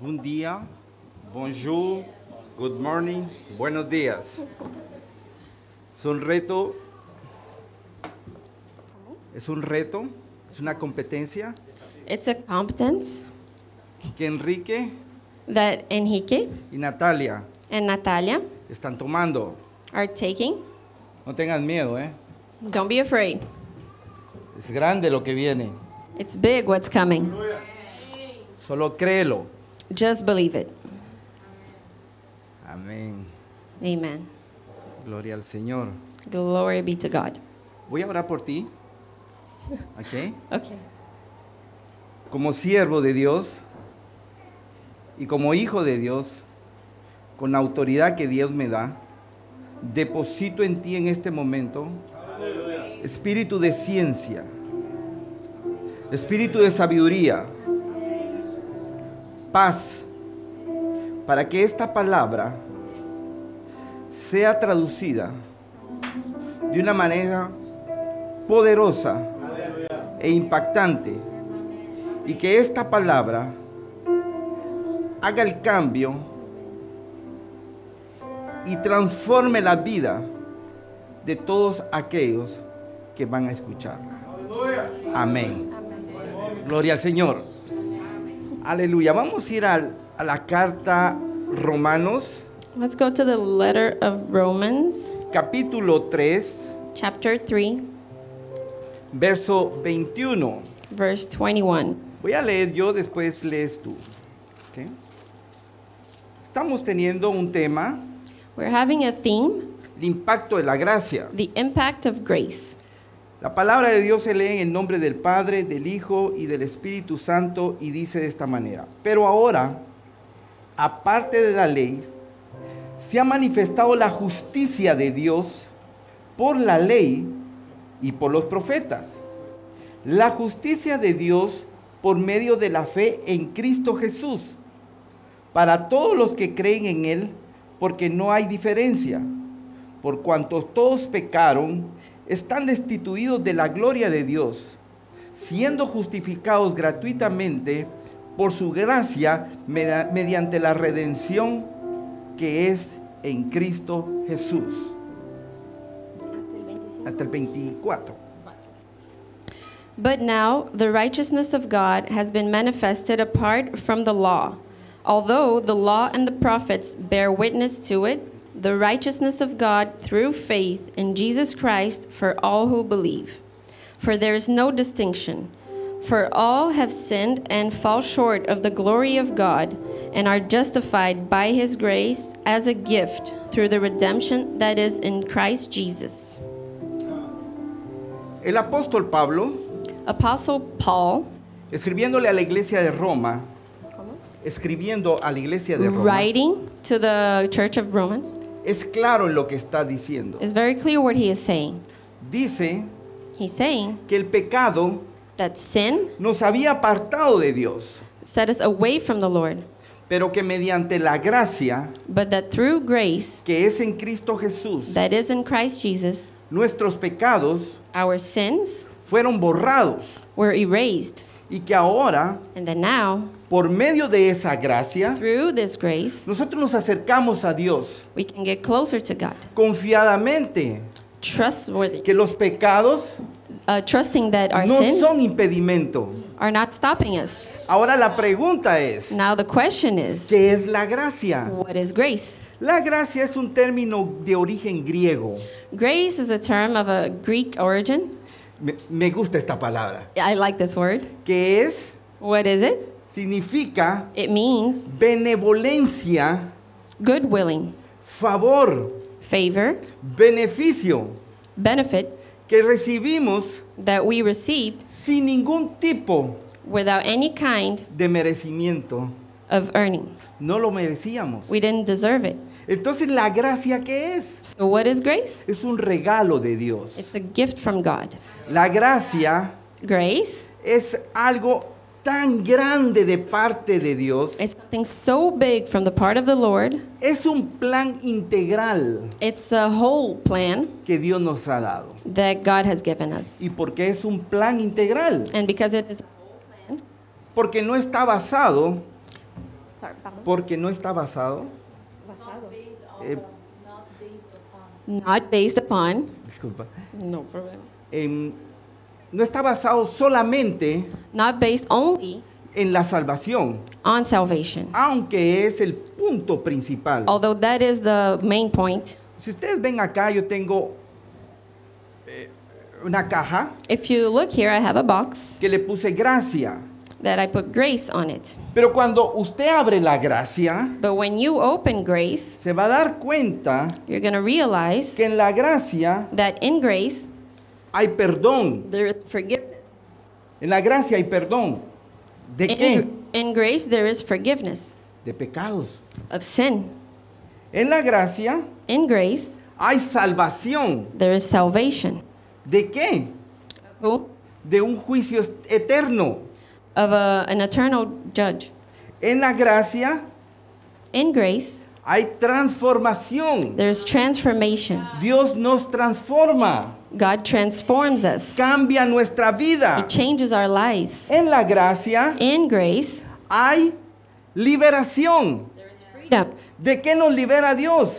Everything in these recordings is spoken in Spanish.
Buen día, bonjour, good morning, buenos días. Es un reto, es una competencia It's a competence que Enrique that Enrique y Natalia and Natalia están tomando. are taking. No tengan miedo, Don't be afraid. es grande lo que viene, It's big what's coming. solo créelo. Just believe it. Amén, Amen. gloria al Señor. Glory be to God. Voy a orar por ti, ¿ok? Okay. Como siervo de Dios y como hijo de Dios, con la autoridad que Dios me da, deposito en ti en este momento espíritu de ciencia, espíritu de sabiduría, paz, para que esta palabra sea traducida de una manera poderosa e impactante, y que esta palabra haga el cambio y transforme la vida de todos aquellos que van a escucharla. Amén. Gloria al Señor. Aleluya. Vamos a ir a la carta Romanos, Let's go to the letter of Romans, capítulo 3, chapter 3, verso 21. verse 21. Voy a leer yo, después lees tú. ¿Ok? Estamos teniendo un tema, We're having a theme, el impacto de la gracia. the impact of grace. La palabra de Dios se lee en el nombre del Padre, del Hijo y del Espíritu Santo, y dice de esta manera: pero ahora, aparte de la ley, se ha manifestado la justicia de Dios por la ley y por los profetas. La justicia de Dios por medio de la fe en Cristo Jesús, para todos los que creen en Él, porque no hay diferencia. Por cuanto todos pecaron, están destituidos de la gloria de Dios, siendo justificados gratuitamente por su gracia mediante la redención que es en Cristo Jesús. Hasta el 24. But now the righteousness of God has been manifested apart from the law. Although the law and the prophets bear witness to it, the righteousness of God through faith in Jesus Christ for all who believe. For there is no distinction. For all have sinned and fall short of the glory of God, and are justified by His grace as a gift through the redemption that is in Christ Jesus. El apóstol Pablo, Apostle Paul, escribiéndole a la iglesia de Roma, writing to the church of Romans, es claro en lo que está diciendo. is very clear what he is saying. Dice He's saying que el pecado that sin nos había apartado de Dios, set us away from the Lord, pero que mediante la gracia but that through grace que es en Cristo Jesús, that is in Christ Jesus, nuestros pecados our sins fueron borrados, were erased, y que ahora, and that now, por medio de esa gracia, through this grace, nosotros nos acercamos a Dios we can get closer to God, confiadamente, trustworthy, que los pecados trusting that our no sins son impedimento. are not stopping us. Ahora la pregunta es, Now the question is, ¿qué es la gracia? what is grace? La gracia es un término de origen griego. Grace is a term of a Greek origin. Me gusta esta palabra. I like this word. ¿Qué es? What is it? Significa It means benevolencia, good willing, favor, favor, beneficio benefit que recibimos that we received sin ningún tipo without any kind de merecimiento. of earning. No lo merecíamos. We didn't deserve it. Entonces, ¿la gracia qué es? So what is grace? Es un regalo de Dios. It's a gift from God. La gracia Grace es algo tan grande de parte de Dios. is something so big from the part of the Lord. Es un plan integral It's a whole plan que Dios nos ha dado. that God has given us. ¿Y por qué es un plan integral? And because it is, Porque no está basado Sorry, pardon. Porque no está basado, eh, Not based upon. disculpa, No problem. no está basado solamente Not based only en la salvación, on salvation. aunque es el punto principal. Although that is the main point. Si ustedes ven acá, yo tengo una caja If you look here, I have a box que le puse gracia. that I put grace on it. Pero cuando usted abre la gracia, But when you open grace, se va a dar cuenta you're going to realize que en la gracia that in grace, hay perdón. there is forgiveness. En la gracia hay perdón. ¿De qué? In grace, there is forgiveness De pecados. of sin. En la gracia In grace, hay salvación. there is salvation. ¿De qué? Who? De un juicio eterno. Of an eternal judge. En la gracia In grace, hay transformación. there is transformation. Dios nos transforma. God transforms us. Cambia nuestra vida. It changes our lives. En la gracia In grace, hay liberación. there is freedom. ¿De qué nos libera Dios?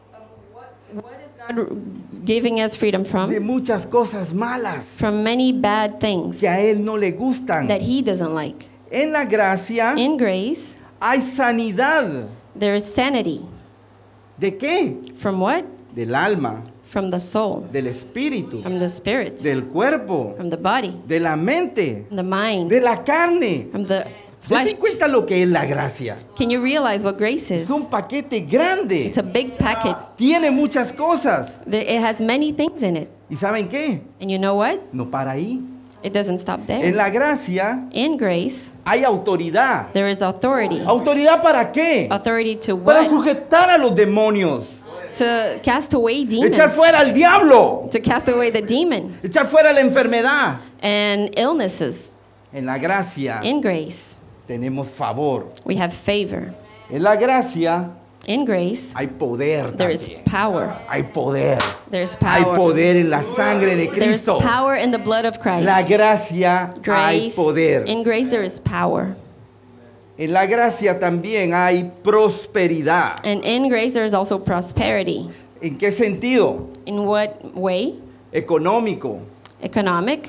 What is God giving us freedom De from? muchas cosas malas From many bad things que a Él no le gustan. that He doesn't like. En la gracia In grace, hay sanidad. there is sanity. ¿De qué? From what? Del alma, From the soul, del espíritu, from the spirit, del cuerpo, from the body, de la mente, from the mind, de la carne. from the ¿Se flesh. dan cuenta lo que es la gracia? Can you realize what grace Es is? un paquete grande. It's a big packet. Tiene muchas cosas. It has many things in it. ¿Y saben qué? And you know what? No para ahí. It doesn't stop En there. la gracia In grace, hay autoridad. there is authority. ¿Autoridad para qué? Authority to Para what? sujetar a los demonios. To cast away Echar demons. fuera al diablo. To cast away the demon Echar fuera la enfermedad. and illnesses. En la gracia In grace, tenemos favor. we have favor. En la gracia In grace, hay poder there is también. power. Hay poder. There's Hay power. poder en la sangre de There's Cristo. power in the blood of Christ. La gracia hay Grace. poder. In grace, there is power. En la gracia también hay prosperidad. And in grace, there is also prosperity. ¿En qué sentido? In what way? Económico, Economic,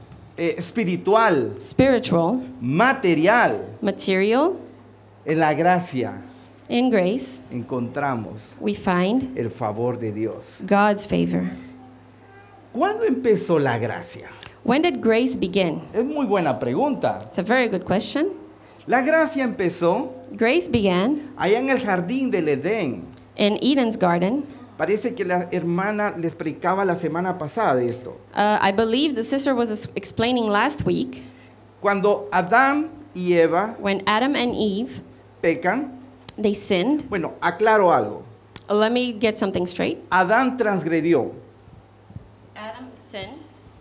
espiritual, spiritual, material. material. En la gracia In grace, encontramos we find el favor de Dios. God's favor. ¿Cuándo empezó la gracia? When did grace begin? Es muy buena pregunta. It's a very good question. La gracia empezó Grace began allá en el jardín del Edén. in Eden's garden. Parece que la hermana les predicaba la semana pasada de esto. I believe the sister was explaining last week Cuando Adán y Eva when Adam and Eve, pecan, they sinned. bueno, aclaro algo. Let me get something straight. Adán transgredió. Adam sinned.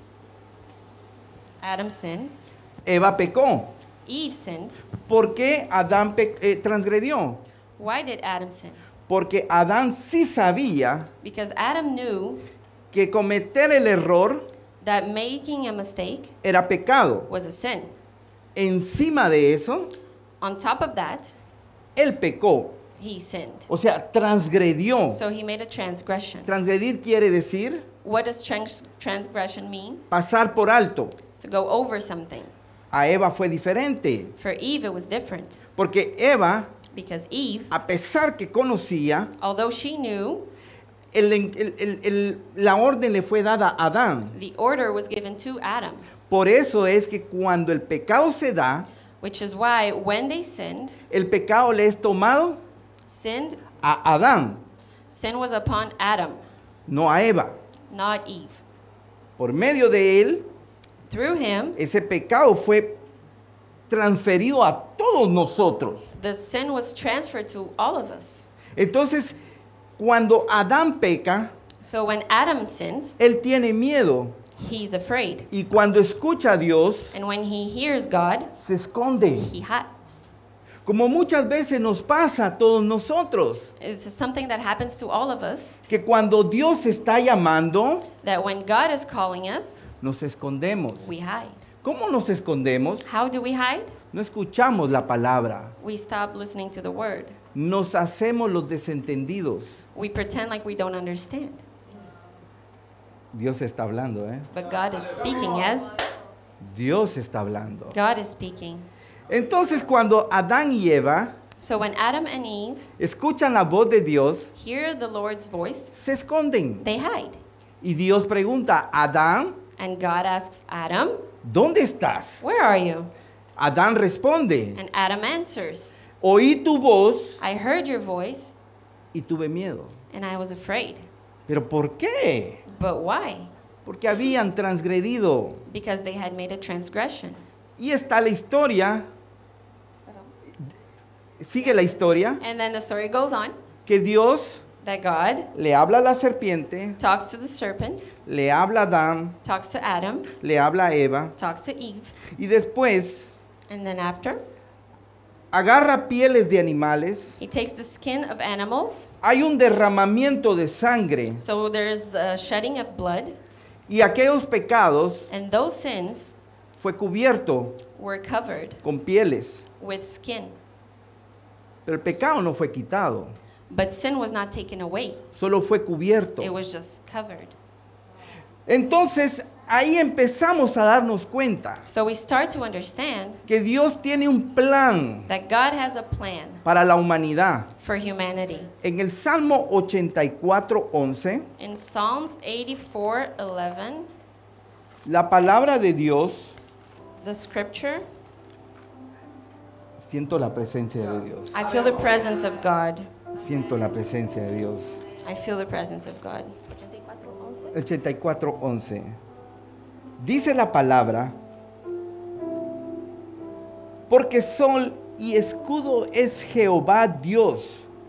Adam sinned. Eva pecó. Eve sinned. ¿Por qué Adán transgredió? Why did Adam sin? Porque Adán sí sabía Because Adam knew que cometer el error that making a mistake era pecado. was a sin. Encima de eso, On top of that, él pecó. he sinned. O sea, transgredió. So he made a transgression. Transgredir quiere decir What does transgression mean? pasar por alto. To go over something. A Eva fue diferente. For Eve, it was different. Porque Eva, Because Eve, a pesar que conocía, although she knew, la orden le fue dada a Adán. the order was given to Adam. Por eso es que cuando el pecado se da, Which is why when they sinned, el pecado le es tomado sinned, a Adán, sin was upon Adam, no a Eva. not Eve. Por medio de él, Through him, ese pecado fue transferido a todos nosotros. the sin was transferred to all of us. Entonces, cuando Adán peca, So when Adam sins, él tiene miedo. he's afraid. Y cuando escucha a Dios, And when he hears God, se esconde. he hides. Como muchas veces nos pasa a todos nosotros. It's something that happens to all of us, Que cuando Dios está llamando, that when God is calling us, nos escondemos. we hide. ¿Cómo nos escondemos? How do we hide? No escuchamos la palabra. We stop listening to the word. Nos hacemos los desentendidos. We pretend like we don't understand. Dios está hablando, ¿eh? But God is speaking, yes? Dios está hablando. God is speaking. Entonces, cuando Adán y Eva So when Adam and Eve escuchan la voz de Dios, hear the Lord's voice, se esconden. they hide. Y Dios pregunta, Adán, And God asks Adam, ¿dónde estás? where are you? Adán responde, And Adam answers, oí tu voz I heard your voice y tuve miedo. and I was afraid. ¿Pero por qué? But why? Porque habían transgredido. Because they had made a transgression. Y está la historia, sigue la historia, And then the story goes on que Dios that God le habla a la serpiente, talks to the serpent, le habla a Adán, talks to Adam, le habla a Eva, talks to Eve, y después and then after, agarra pieles de animales, he takes the skin of animals. hay un derramamiento de sangre, So there's a shedding of blood, y aquellos pecados and those sins fue cubierto were covered con pieles, with skin. pero el pecado no fue quitado, But sin was not taken away. solo fue cubierto. It was just covered. Entonces ahí empezamos a darnos cuenta So we start to understand que Dios tiene un plan that God has a plan para la humanidad. for humanity. En el Salmo 84:11, In Psalms 84:11, la palabra de Dios, the scripture, siento la presencia de Dios, I feel the presence of God. siento la presencia de Dios. I feel the presence of God. 84:11. Dice la palabra, porque sol y escudo es Jehová Dios.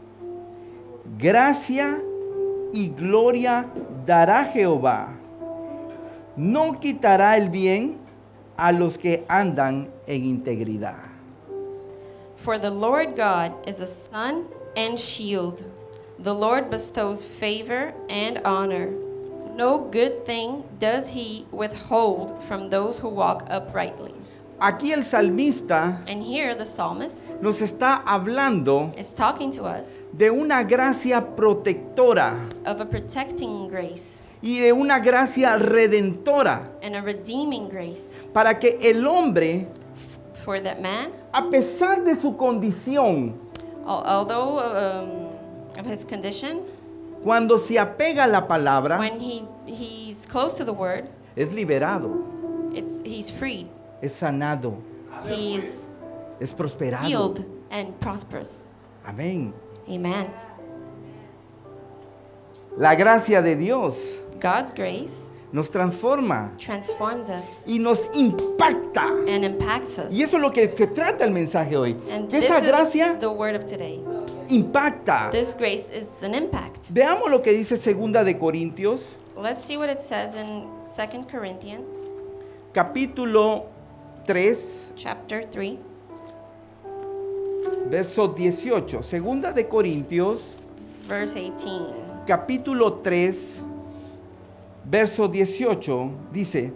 Gracia y gloria dará Jehová. No quitará el bien a los que andan en integridad. For the Lord God is a sun and shield. The Lord bestows favor and honor. No good thing does he withhold from those who walk uprightly. Aquí el salmista And here the psalmist nos está hablando is talking to us de una gracia protectora of a protecting grace y de una gracia redentora and a redeeming grace para que el hombre, for that man, a pesar de su condición, although of his condition, cuando se apega a la palabra, when he's close to the word, es liberado, he's freed, es sanado, he's es prosperado. healed and prosperous. Amén. Amen. La gracia de Dios God's grace nos transforma transforms us y nos impacta. and impacts us. Y eso es lo que se trata el mensaje hoy. And Que this esa is gracia the word of today. impacta. This grace is an impact. Veamos lo que dice 2 de Corintios, Let's see what it says in 2 Corinthians capítulo 3, chapter 3, verso 18. 2 de Corintios, verse 18. capítulo 3, verso 18, dice,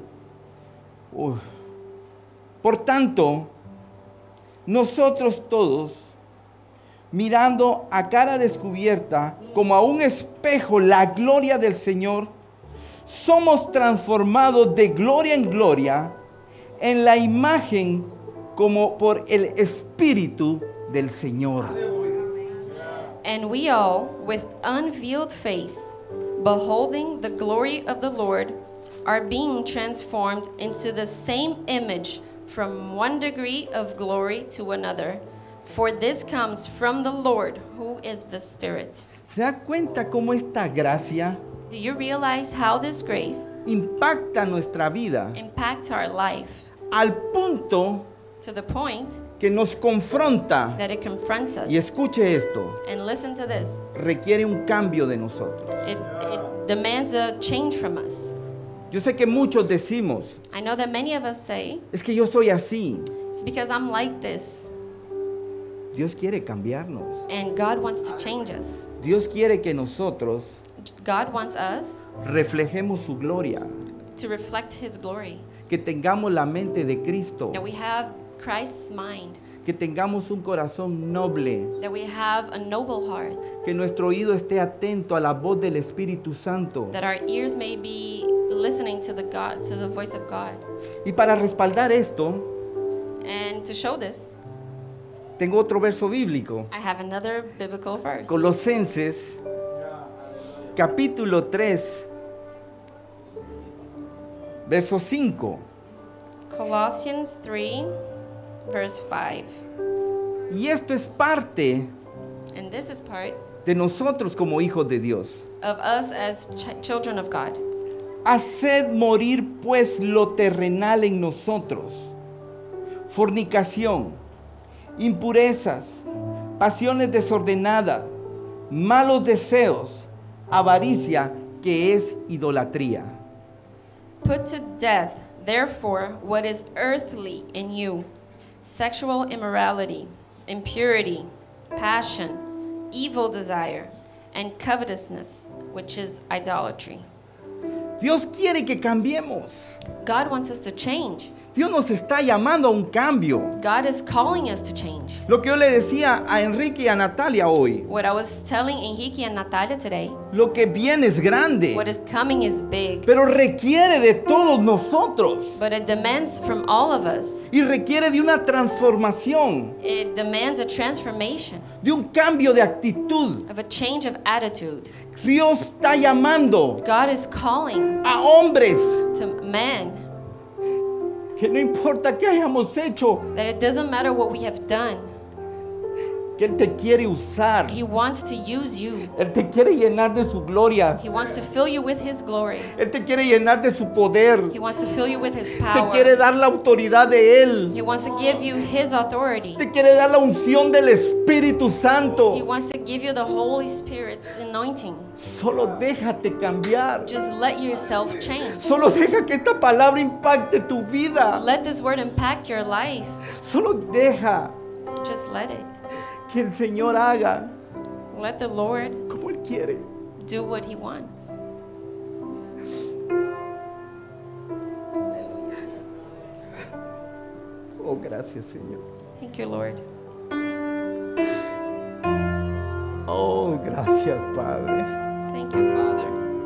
por tanto, nosotros todos, mirando a cara descubierta, como a un espejo, la gloria del Señor, somos transformados de gloria en gloria en la imagen como por el Espíritu del Señor. And we all, with unveiled face, beholding the glory of the Lord, are being transformed into the same image from one degree of glory to another. For this comes from the Lord, who is the Spirit. ¿Se da cuenta cómo esta gracia Do you realize how this grace impacta nuestra vida impacts our life al punto to the point que nos confronta? that it confronts us? Y escuche esto, And listen to this. requiere un cambio de nosotros. It demands a change from us. Yo sé que muchos decimos, I know that many of us say, es que yo soy así. it's because I'm like this. Dios quiere cambiarnos. And God wants to change us. Dios quiere que nosotros God wants us reflejemos su gloria. to reflect His glory, que tengamos la mente de Cristo, that we have Christ's mind, que tengamos un corazón noble, that we have a noble heart, que nuestro oído esté atento a la voz del Espíritu Santo. that our ears may be listening to the voice of God. Y para respaldar esto, And to show this, tengo otro verso bíblico. I have another biblical verse. Colosenses, capítulo 3, verso 5. Colossians 3, verse 5. Y esto es parte And this is part de nosotros como hijos de Dios. of us as children of God. Haced morir pues lo terrenal en nosotros: fornicación, impurezas, pasiones desordenadas, malos deseos, avaricia, que es idolatría. Put to death, therefore, what is earthly in you: sexual immorality, impurity, passion, evil desire, and covetousness, which is idolatry. Dios quiere que cambiemos. God wants us to change. Dios nos está llamando a un cambio. God is calling us to change. Lo que yo le decía a Enrique y a Natalia hoy, What I was telling Enrique and Natalia today, lo que viene es grande, what is coming is big, pero requiere de todos nosotros but it demands from all of us. y requiere de una transformación, It demands a transformation, de un cambio de actitud. of a change of attitude. Dios está llamando God is calling a hombres to men que no importa qué hayamos hecho, that it doesn't matter what we have done. que Él te quiere usar. He wants to use you. Él te quiere llenar de su gloria. He wants to fill you with His glory. Él te quiere llenar de su poder. He wants to fill you with His Te power. quiere dar la autoridad de Él. He wants to give you His authority. Te quiere dar la unción del Espíritu He Santo. wants to give you the Holy Spirit's anointing. Solo déjate cambiar. Just let yourself change. Solo deja que esta palabra impacte tu vida. Let this word impact your life. Solo deja Just let it. que el Señor haga Let the Lord como Él quiere. do what He wants. Oh, gracias, Señor. Thank you, Lord. Oh, gracias, Padre. Thank you, Father.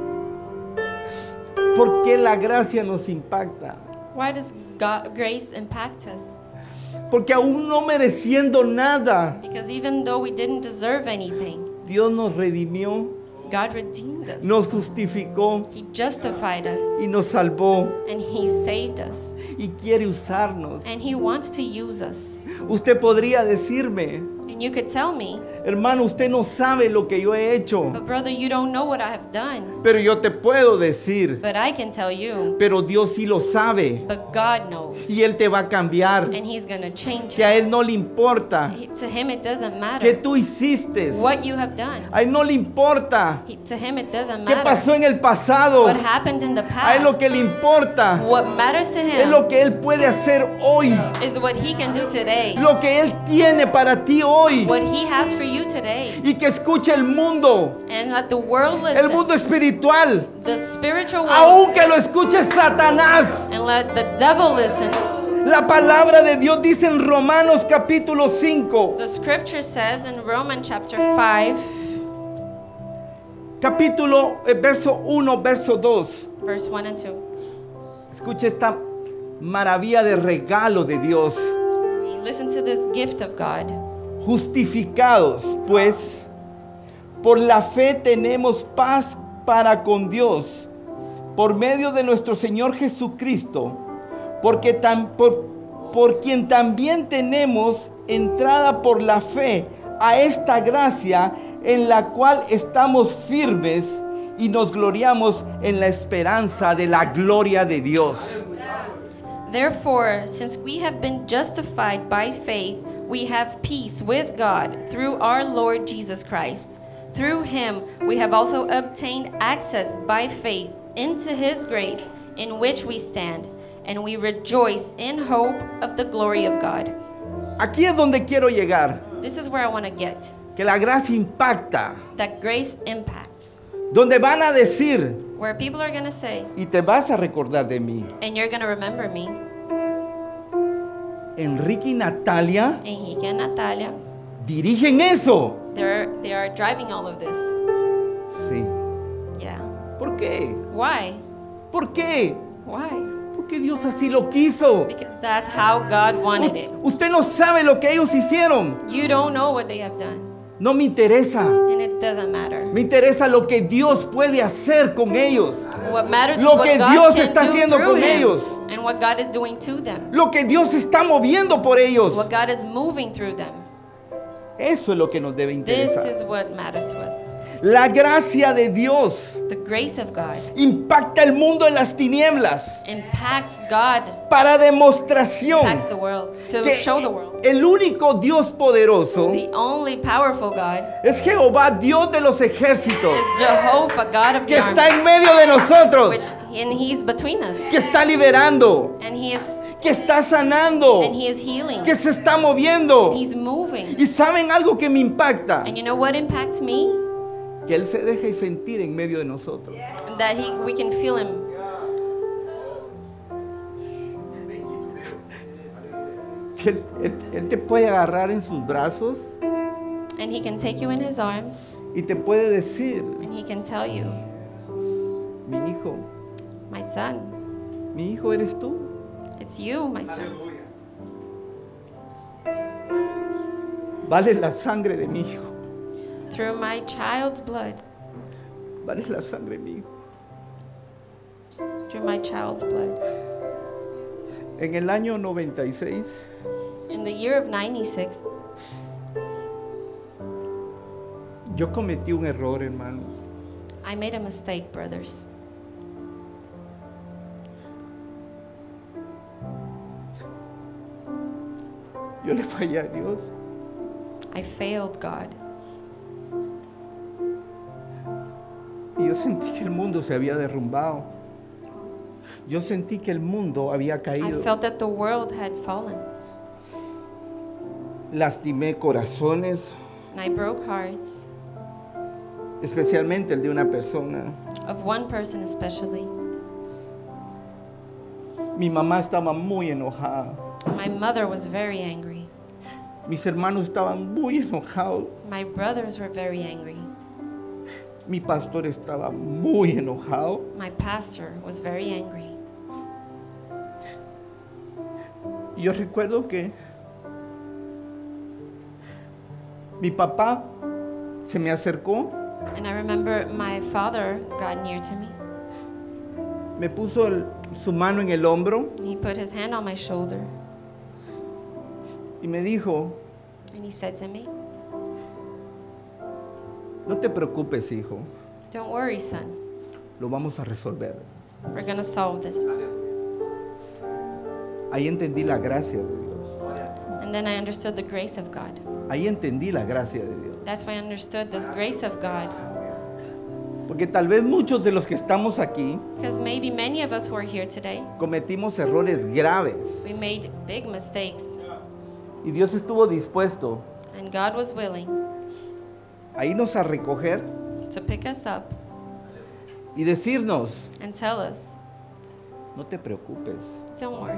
¿Por qué la gracia nos impacta? Why does grace impact us? Porque aún no mereciendo nada, Because even though we didn't deserve anything, Dios nos redimió, God redeemed us. nos justificó He justified us y nos salvó and He saved us. y quiere usarnos. And He wants to use us. Usted podría decirme, And you could tell me, hermano, usted no sabe lo que yo he hecho, but brother, you don't know what I have done. pero yo te puedo decir, But I can tell you, pero Dios sí lo sabe but God knows. y Él te va a cambiar, And He's going to change que a Él no le importa To Him, it doesn't que matter tú hiciste, what you have done. a Él no le importa To Him, it doesn't qué pasó matter en el pasado, what happened in the a Él lo past. que le importa What matters to es Him lo que Él puede hacer hoy, is what He can do today, lo que Él tiene para ti hoy, what He has for you today. y que escuche el mundo, And let the world el listen, mundo espiritual, the spiritual world, aunque lo escuche Satanás. and let the devil listen. La palabra de Dios dice en Romanos capítulo 5, The scripture says in Romans chapter 5, verso 1, verso 2. verse 1 and 2. Escuche esta maravilla de regalo de Dios. Listen to this gift of God. Justificados, pues, por la fe tenemos paz para con Dios, por medio de nuestro Señor Jesucristo, porque por quien también tenemos entrada por la fe a esta gracia en la cual estamos firmes y nos gloriamos en la esperanza de la gloria de Dios. Therefore, since we have been justified by faith, we have peace with God through our Lord Jesus Christ. Through Him, we have also obtained access by faith into His grace in which we stand, and we rejoice in hope of the glory of God. Aquí es donde quiero llegar, This is where I want to get. que la gracia impacta, That grace impacts. donde van a decir, where people are going to say, y te vas a recordar de mí. and you're going to remember me. Enrique y Natalia Enrique and Natalia, dirigen eso. they are driving all of this. Sí. Yeah. ¿Por qué? Why? ¿Por qué? Why? Porque Dios así lo quiso. Because that's how God wanted it. Usted no sabe lo que ellos hicieron. You don't know what they have done, No me interesa. and it doesn't matter. Me interesa lo que Dios puede hacer con ellos. What matters is Lo what que God Dios can está do haciendo through con him, ellos. and what God is doing to them. Lo que Dios está moviendo por ellos. What God is moving through them. Eso es lo que nos debe This interesar. is what matters to us. La gracia de Dios The grace of God impacta el mundo en las tinieblas impacts God, para demostración impacts the world, to que show the world. el único Dios poderoso The only powerful God es Jehová, Dios de los ejércitos, is Jehovah, God of que the está armies, en medio de nosotros, and He's between us, que está liberando, and He is que está sanando, and He is healing, que se está moviendo. He's moving. Y saben algo que me impacta, And you know what impacts me? que Él se deja sentir en medio de nosotros. That we can feel Him. Que él te puede agarrar en sus brazos And He can take you in His arms, y te puede decir, and He can tell you, mi hijo, my son, mi hijo eres tú. it's you, my son. Vale la sangre de mi hijo, Through my child's blood, vale la sangre de mi hijo. through my child's blood. En el año 96, In the year of 96, yo cometí un error, hermanos. I made a mistake, brothers. Yo le fallé a Dios. I failed God. Y yo sentí que el mundo se había derrumbado. Yo sentí que el mundo había I caído. felt that the world had fallen. Lastimé corazones, And I broke hearts especialmente el de una persona. of one person especially. Mi mamá estaba muy enojada. My mother was very angry. Mis hermanos estaban muy enojados. My brothers were very angry. Mi pastor estaba muy enojado. My pastor was very angry. Y yo recuerdo que mi papá se me acercó, And I remember my father got near to me. me puso su mano en el hombro He put his hand on my shoulder y me dijo, and he said to me, no te preocupes, hijo, "Don't worry, son. lo vamos a resolver. We're going to solve this." Ahí entendí la gracia de Dios. And then I understood the grace of God. Ahí entendí la gracia de Dios. That's why I understood the grace of God. Porque tal vez muchos de los que estamos aquí Because maybe many of us who are here today, cometimos errores graves we made big mistakes. y Dios estuvo dispuesto And God was willing a irnos a recoger to pick us up y decirnos, and tell us, no te preocupes, "Don't worry.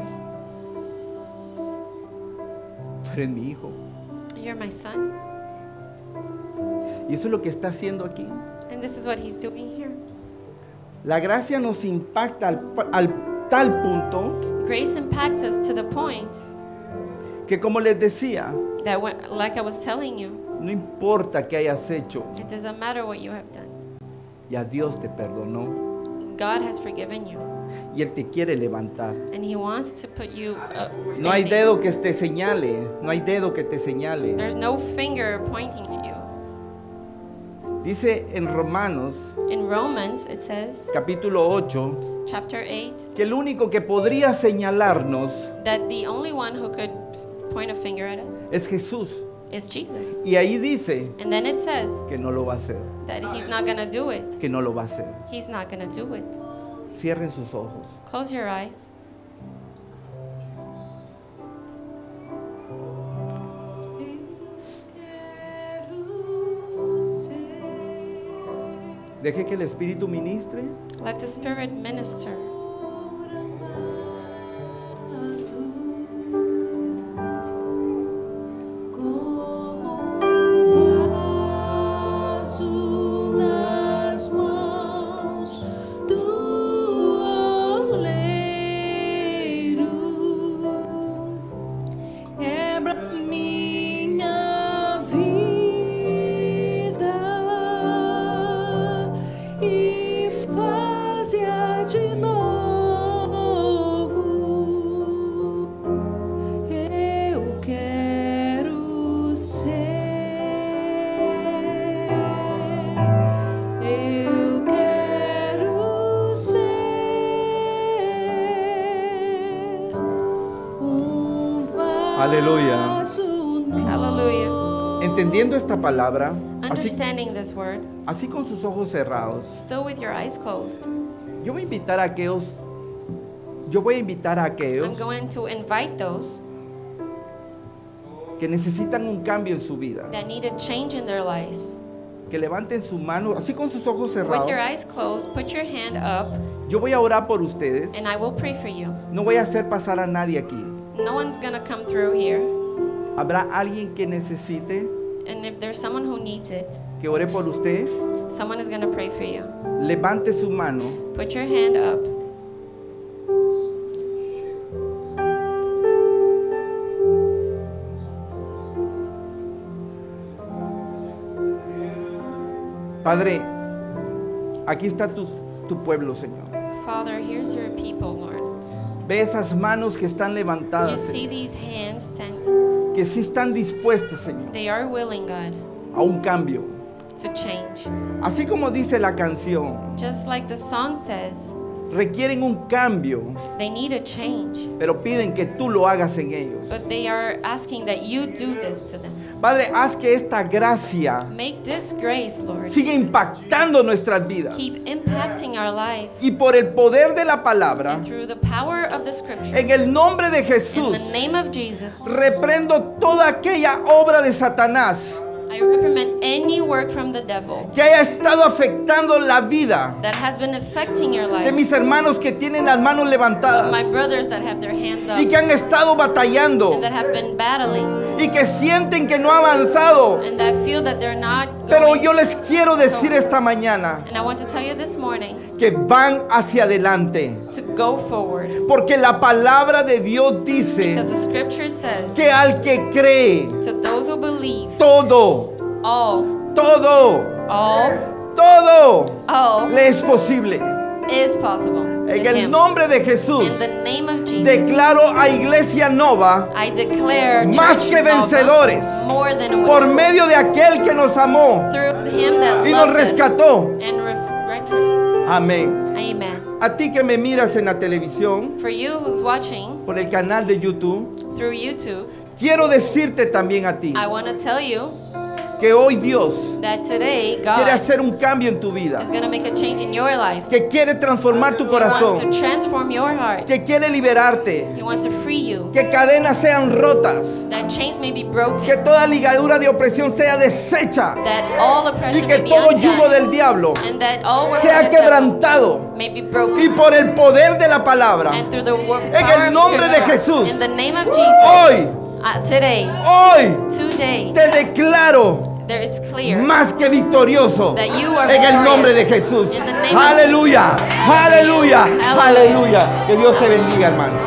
tú eres mi hijo. You're my son." Y eso es lo que está haciendo aquí. And this is what he's doing here. La gracia nos impacta al tal punto Grace impacts us to the point que, como les decía, that like I was telling you, no importa qué hayas hecho, it doesn't matter what you have done. ya Dios te perdonó God has forgiven you, y Él te quiere levantar. and He wants to put you No hay standing. dedo que te señale, no hay dedo que te señale. There's no finger pointing at you. Dice en Romanos In Romans, it says, capítulo 8, chapter 8, que el único que podría señalarnos that the only one who could point a finger at us es Jesús. is Jesus. Y ahí dice And then it says que no lo va a hacer, that He's not going to do it. que no lo va a hacer. He's not going to do it. Cierren sus ojos. Close your eyes. Deje que el Espíritu ministre. Let the Spirit minister. Aleluya. Hallelujah. Entendiendo esta palabra, Understanding this word, así con sus ojos cerrados, still with your eyes closed, yo voy a invitar a aquellos, I'm going to invite those que necesitan un cambio en su vida, that need a change in their lives. que levanten su mano, así con sus ojos With cerrados. your eyes closed, put your hand up, Yo voy a orar por ustedes. and I will pray for you. No voy a hacer pasar a nadie aquí. No one's going to come through here. ¿Habrá alguien que necesite And if there's someone who needs it, que ore por usted? someone is going to pray for you. Levante su mano. Put your hand up. Padre, aquí está tu pueblo, Señor. Father, here's your people, Lord. Ve esas manos que están You levantadas, see Señor, these hands standing. que sí están dispuestas, Señor, They are willing, God, a un cambio. to change. Así como dice la canción, Just like the song says, requieren un cambio, they need a change. pero piden que tú lo hagas en ellos. But they are asking that you do this to them. Padre, haz que esta gracia Make this grace, Lord, siga impactando nuestras vidas. keep impacting our life. Y por el poder de la palabra, And through the power of the scripture, en el nombre de in Jesús, the name of Jesus, reprendo toda aquella obra de Satanás I reprimand any work from the devil que haya estado afectando la vida that has been affecting your de life. mis hermanos que tienen las manos levantadas My brothers that have their hands up y que han estado batallando and that have been battling y que sienten que no ha avanzado. and that feel that they're not Pero going. yo les quiero decir esta mañana And I want to tell you this morning que van hacia adelante, to go forward, porque la palabra de Dios dice because the scripture says que al que cree, to those who believe, todo, all le es posible. is possible. En in el him. nombre de Jesús, In the name of Jesus, declaro a Iglesia Nova I declare más Church que Nova vencedores more than a por winner medio de aquel que nos amó through him that y nos loved us rescató. and Amén. Amen. A ti que me miras en la televisión, For you who's watching por el canal de YouTube, through YouTube, quiero decirte también a ti I want to tell you que hoy Dios that today quiere God hacer un cambio en tu vida, is going to make a change in your life. que quiere transformar tu He wants to corazón, transform your heart. que quiere liberarte, He wants to free you. que cadenas sean rotas, That chains may be broken. que toda ligadura de opresión sea deshecha That all y oppression que may be todo yugo undone. del diablo And that all work of sea the devil quebrantado may be y broken. por el poder de la palabra. And through the En el nombre de Jesús, in the name of Jesus, hoy, today, hoy te declaro there it's clear más que victorioso that you are en el victorious. nombre de Jesús. In the name of Aleluya, Jesus. aleluya, Hallelujah. aleluya. Que Dios te bendiga, hermano.